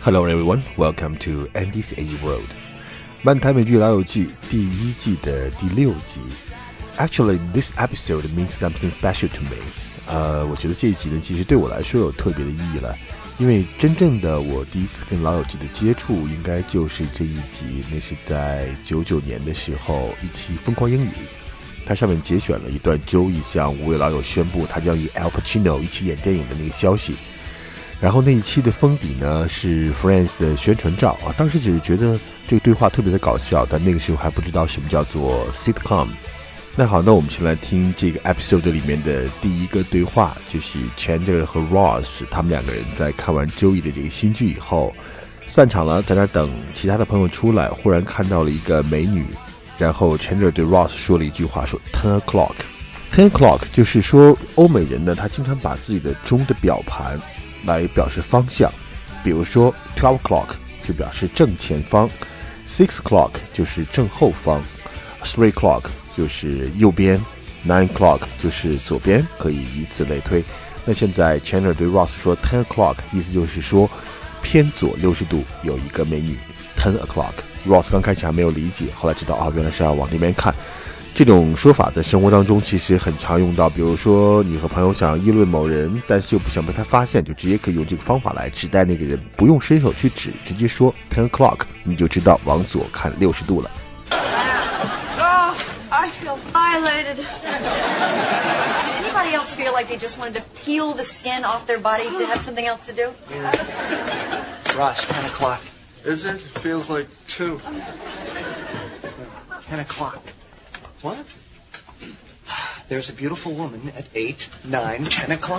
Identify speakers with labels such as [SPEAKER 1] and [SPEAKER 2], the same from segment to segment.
[SPEAKER 1] Hello everyone, welcome to Andy's A World. 漫谈美剧老友记第1季的第6集。Actually, this episode means something special to me. 我觉得这一集呢，其实对我来说有特别的意义了，因为真正的我第一次跟老友记的接触，应该就是这一集。那是在99年的时候，一期《疯狂英语》，它上面节选了一段周易向5位老友宣布他将与 Al Pacino 一起演电影的那个消息。然后那一期的封底呢是 Friends 的宣传照啊，当时只是觉得这个对话特别的搞笑，但那个时候还不知道什么叫做 sitcom。那好，那我们先来听这个 episode 里面的第一个对话，就是 Chandler 和 Ross 他们两个人在看完周易的这个新剧以后散场了，在那等其他的朋友出来，忽然看到了一个美女，然后 Chandler 对 Ross 说了一句话，说 10 o'clock。10 o'clock 就是说欧美人呢，他经常把自己的钟的表盘来表示方向，比如说 12 o'clock 就表示正前方， 6 o'clock 就是正后方， 3 o'clock 就是右边， 9 o'clock 就是左边，可以以此类推。那现在 Chandler 对 Ross 说 10 o'clock 意思就是说偏左60度有一个美女 10 o'clock。 Ross 刚开始还没有理解，后来知道原来是要往那边看。这种说法在生活当中其实很常用到，比如说你和朋友想议论某人，但是又不想被他发现，就直接可以用这个方法来指代那个人，不用伸手去指，直接说 10 o'clock 你就知道往左看60度了。
[SPEAKER 2] I feel violated. Did anybody else feel like they just wanted to peel the skin off their body to have something else to do?
[SPEAKER 3] Yeah. Ross, 10 o'clock.
[SPEAKER 4] Is it? It feels like 2.
[SPEAKER 3] 10 o'clock.
[SPEAKER 4] What?
[SPEAKER 3] There's a beautiful woman at 8, 9, 10 o'clock.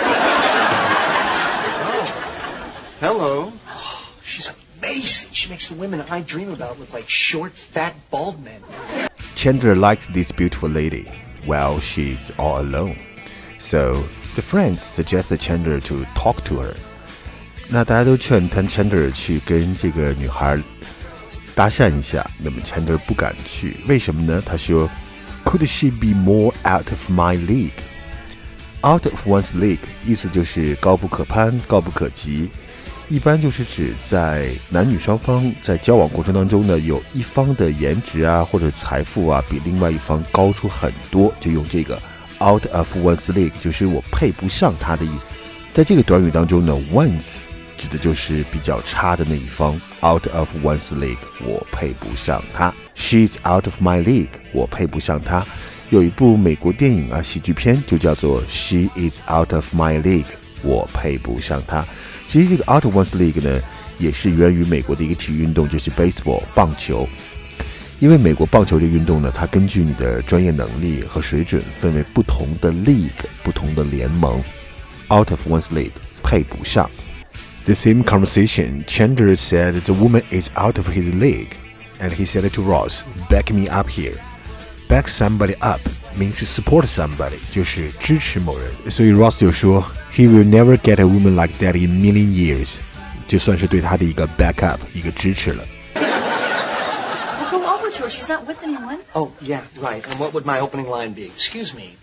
[SPEAKER 4] Oh. Hello.
[SPEAKER 3] Oh, she's amazing. She makes the women I dream about look like short, fat, bald men.
[SPEAKER 1] Chandler likes this beautiful lady while she's all alone. So the friends suggested Chandler to talk to her. 那大家都劝Chandler 去跟这个女孩搭讪一下，那么 Chandler 不敢去，为什么呢？他说 Could she be more out of my league? Out of one's league 意思就是高不可攀，高不可及，一般就是指在男女双方在交往过程当中呢，有一方的颜值啊或者财富啊比另外一方高出很多，就用这个 out of one's league， 就是我配不上他的意思。在这个短语当中呢 one's 指的就是比较差的那一方， out of one's league 我配不上他， she's out of my league 我配不上他。有一部美国电影啊喜剧片就叫做 She is out of my league 我配不上他。其实这个 out of one's league 呢也是源于美国的一个体育运动，就是 baseball 棒球。因为美国棒球这个运动呢，它根据你的专业能力和水准分为不同的 league 不同的联盟， out of one's league 配不上。The same conversation, Chandler said the woman is out of his league, and he said to Ross, back me up here. Back somebody up means support somebody, 就是支持某人。所以 Ross 就说 He will never get a woman like that in a million years. 就算是对他的一个 back up, 一个支持了。
[SPEAKER 2] Well, go over to her. She's not with anyone.
[SPEAKER 3] Oh, yeah, right. And what would my opening line be? Excuse me.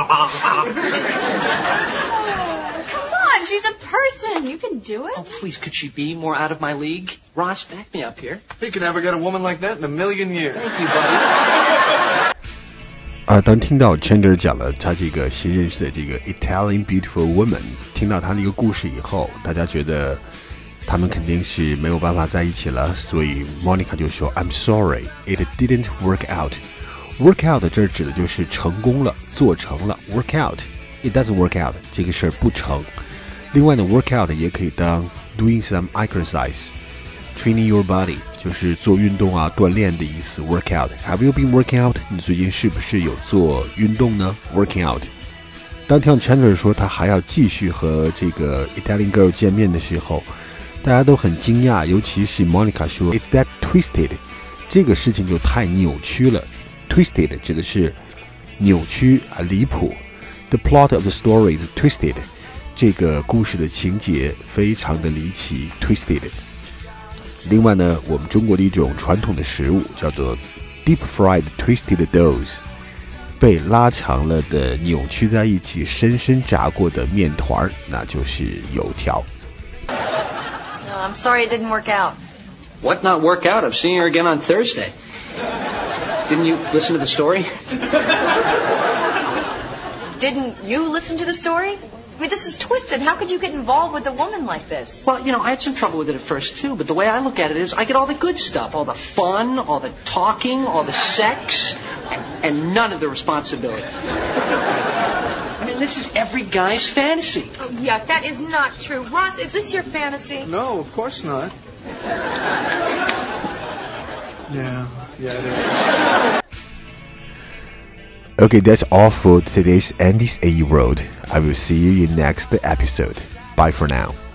[SPEAKER 2] Come on, she's a person. You can do it.
[SPEAKER 3] Oh, please, could she be more out of my league? Ross, back me up here.
[SPEAKER 4] He could never get a woman like that in a million years.
[SPEAKER 3] Thank you, buddy.
[SPEAKER 1] 当听到 Chandler 讲了他这个新认识的这个 Italian beautiful woman， 听到他的一个故事以后，大家觉得他们肯定是没有办法在一起了，所以 Monica 就说 I'm sorry, it didn't work out. Work out 这指的就是成功了，做成了。 Work out, it doesn't work out 这个事儿不成。另外呢 work out 也可以当 doing some exercise, training your body 就是做运动啊锻炼的意思。 work out, have you been working out? 你最近是不是有做运动呢？ working out。 当听到 Chandler 说他还要继续和这个 Italian girl 见面的时候，大家都很惊讶，尤其是 Monica 说 It's that twisted， 这个事情就太扭曲了。 Twisted 指的是扭曲啊离谱。 The plot of the story is twisted， 这个故事的情节非常的离奇 twisted。 另外呢，我们中国的一种传统的食物叫做 deep fried twisted doughs， 被拉长了的扭曲在一起深深炸过的面团，那就是油条。
[SPEAKER 2] I'm sorry it didn't work out.
[SPEAKER 3] What not work out? I'm seeing her again on Thursday. Didn't you listen to the story?
[SPEAKER 2] Didn't you listen to the story? I mean, this is twisted. How could you get involved with a woman like this?
[SPEAKER 3] Well, I had some trouble with it at first, too. But the way I look at it is I get all the good stuff. All the fun, all the talking, all the sex, and none of the responsibility. I mean, this is every guy's fantasy.
[SPEAKER 5] Oh, yeah, that is not true. Ross, is this your fantasy?
[SPEAKER 4] No, of course not. Yeah, it is.
[SPEAKER 1] Okay, that's all for today's Andy's AE World. I will see you in next episode. Bye for now.